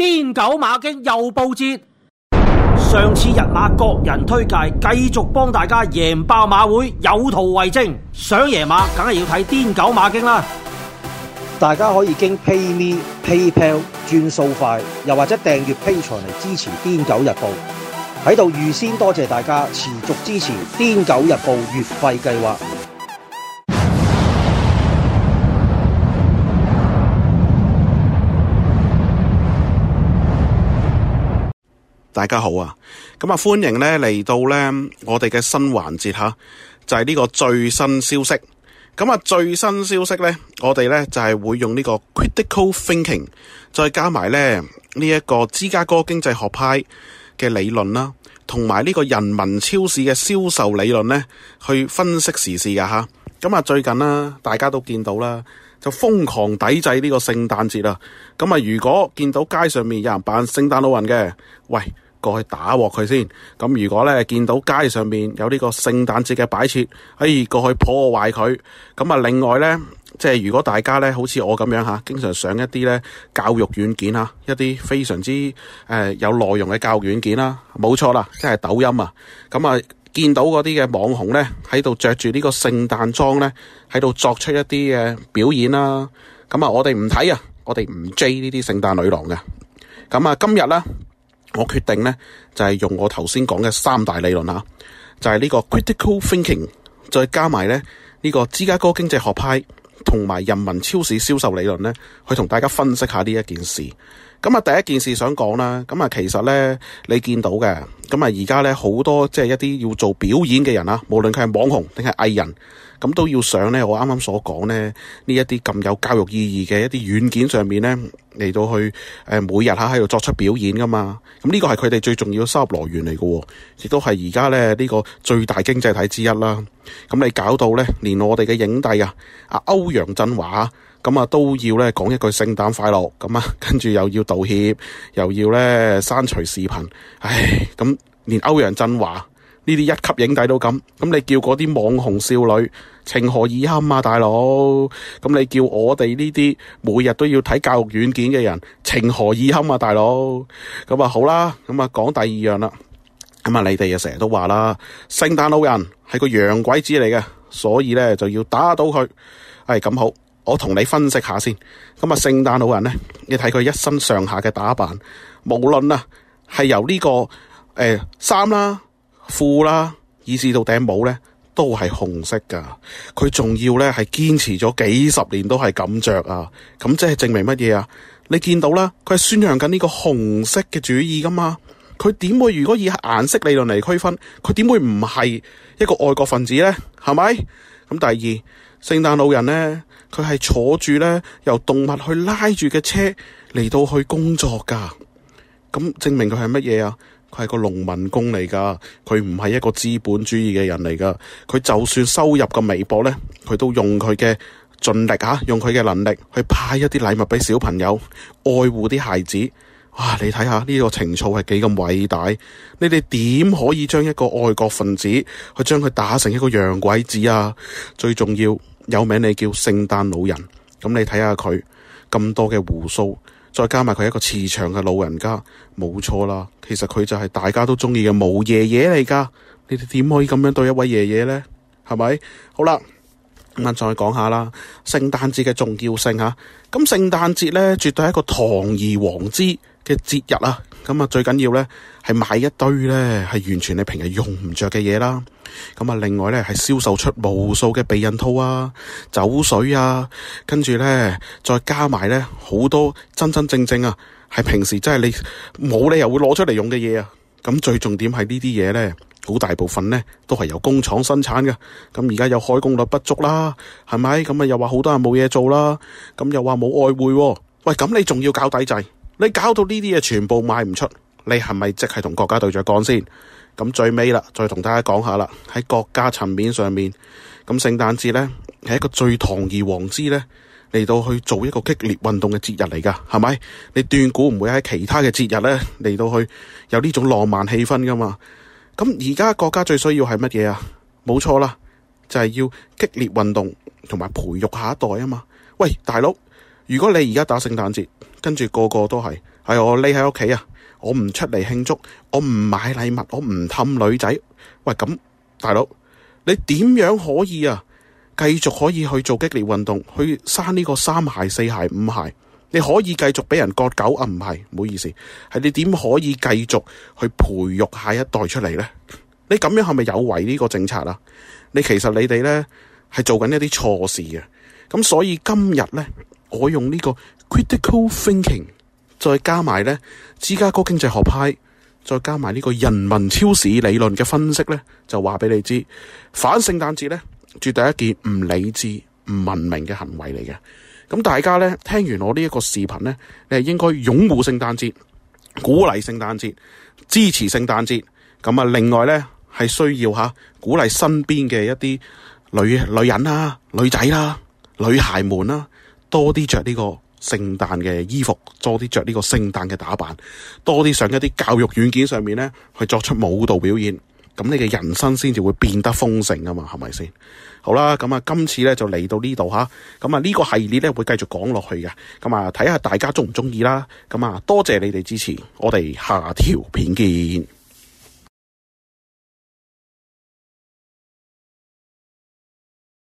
癲狗馬經又報捷，上次日馬各人推介，繼續幫大家贏爆馬會，有圖為證。想贏馬，梗係要睇癲狗馬經啦。 大家可以經 PayMe、PayPal 轉數快，又或者訂閱 Patreon 嚟支持癲狗日報。喺度預先多謝大家持續支持癲狗日報月費計劃。 大家好啊，咁啊歡迎咧嚟到咧我哋嘅新環節吓，就係呢個最新消息。咁啊最新消息咧，我哋咧就係會用呢個 critical thinking， 再加埋咧呢一個芝加哥經濟學派嘅理論啦，同埋呢個人民超市嘅銷售理論咧，去分析時事噶吓。咁啊最近啦，大家都見到啦，就瘋狂抵制呢個聖誕節啦。咁啊如果見到街上面有人扮聖誕老人嘅，喂，過去打鑊佢先。咁如果咧見到街上面有呢個聖誕節嘅擺設，過去破壞佢。咁啊另外咧，即係如果大家咧好似我咁樣吓，經常上一啲咧教育軟件啊，一啲非常之有內容嘅教育軟件啦，冇錯啦，即係抖音啊。咁啊見到嗰啲嘅網紅咧喺度着住呢個聖誕裝咧，喺度作出一啲嘅表演啦。咁啊我哋唔睇啊，我哋唔追呢啲聖誕女郎嘅。咁啊今日咧，我決定咧就係用我頭先講嘅三大理論啊，就係呢個 critical thinking， 再加埋咧呢個芝加哥經濟學派同埋人民超市銷售理論咧，去同大家分析下呢一件事。咁啊第一件事想講啦，咁啊其實咧你見到嘅，咁啊而家咧好多即係一啲要做表演嘅人啊，無論佢係網紅定係藝人，咁都要上咧我啱啱所講咧呢一啲咁有教育意義嘅一啲軟件上面咧嚟到去每日喺度作出表演噶嘛。咁呢個係佢哋最重要嘅收入來源嚟嘅，亦都係而家咧呢個最大經濟體之一啦。咁你搞到咧連我哋嘅影帝啊歐陽震華咁啊都要咧講一句聖誕快樂，咁啊跟住又要道歉，又要咧刪除視頻。咁連歐陽震華呢啲一級影帝都咁你叫嗰啲網紅少女情何以堪啊大佬？咁你叫我哋呢啲每日都要睇教育軟件嘅人情何以堪啊大佬？咁啊好啦，咁啊講第二樣啦。咁啊你哋又成日都話啦，聖誕老人係個洋鬼子嚟嘅，所以咧就要打倒佢。咁好，我同你分析下先。咁啊聖誕老人咧，你睇佢一身上下嘅打扮，無論啊係由呢個衫啦、褲啦，以至到頂帽咧，都係紅色噶。佢仲要咧係堅持咗幾十年都係咁着啊。咁即係證明乜嘢啊？你見到啦，佢係宣揚緊呢個紅色嘅主義噶嘛。佢點會如果以顏色理論嚟區分，佢點會唔係一個愛國分子咧？係咪？咁第二，聖誕老人咧，佢係坐住咧由動物去拉住嘅車嚟到去工作噶。咁證明佢係乜嘢啊？佢係個農民工嚟噶，佢唔係一個資本主義嘅人嚟噶。佢就算收入咁微薄咧，佢都用佢嘅盡力用佢嘅能力去派一啲禮物俾小朋友，愛護啲孩子。哇！你睇下呢個情操係幾咁偉大？你哋點可以將一個愛國分子去將佢打成一個洋鬼子啊？最重要有名你叫聖誕老人，咁你睇下佢咁多嘅鬍鬚，再加埋佢一個慈祥嘅老人家，冇錯啦。其實佢就係大家都中意嘅毛爺爺嚟噶。你哋點可以咁樣對一位爺爺呢？係咪？好啦，咁再講下啦，聖誕節嘅重要性吓。咁聖誕節咧，絕對係一個堂而皇之嘅節日啊。咁啊最緊要咧係買一堆咧係完全你平日用唔着嘅嘢啦。咁啊另外咧係銷售出無數嘅避孕套啊、酒水啊，跟住咧再加埋咧好多真真正正啊係平時真係你冇理由會攞出嚟用嘅嘢啊。咁最重點係呢啲嘢咧，好大部分咧都係由工廠生產嘅。咁而家有開工率不足啦，係咪？咁啊又話好多人冇嘢做啦，咁又話冇外匯。喂，咁你仲要搞抵制？你搞到呢啲嘢全部賣唔出，你係咪即係同國家對着幹先？咁最尾啦，再同大家講下啦，喺國家層面上面，咁聖誕節咧係一個最堂而皇之咧嚟到去做一個激烈運動嘅節日嚟噶，係咪？你斷估唔會喺其他嘅節日咧嚟到去有呢種浪漫氣氛噶嘛？咁而家國家最需要係乜嘢啊？冇錯啦，就係要激烈運動同埋培育下一代啊嘛。喂，大佬，如果你而家打聖誕節， 跟住個個都係我匿喺屋企啊，我唔出嚟慶祝，我唔買禮物，我唔氹女仔。喂，咁大佬，你點樣可以繼續可以去做激烈運動，去生呢個3孩、4孩、5孩？你可以繼續俾人割狗啊？唔係，唔好意思，係你點可以繼續去培育下一代出嚟呢？你咁樣係咪有違呢個政策啊？你其實你哋呢係做緊一啲錯事嘅。咁所以今日呢，我用呢個 critical thinking， 再加埋呢芝加哥經濟學派，再加埋呢個人民超市理論嘅分析呢，就話俾你知，反聖誕節呢，絕對係一件唔理智、唔文明嘅行為嚟嘅。咁大家呢，聽完我呢一個視頻呢，你係應該擁護聖誕節、鼓勵聖誕節、支持聖誕節。咁啊，另外呢，係需要鼓勵身邊嘅一啲女人啦、女仔啦、女孩們啦，多啲着呢個聖誕嘅衣服，多啲着呢個聖誕嘅打扮，多啲上一啲教育軟件上面呢，去作出舞蹈表演。咁你嘅人生先至會變得豐盛啊嘛，係咪先？好啦，咁啊，今次咧就嚟到呢度吓，咁啊呢個系列咧會繼續講落去嘅，咁啊睇下大家中唔中意啦，咁啊多謝你哋支持，我哋下條片見。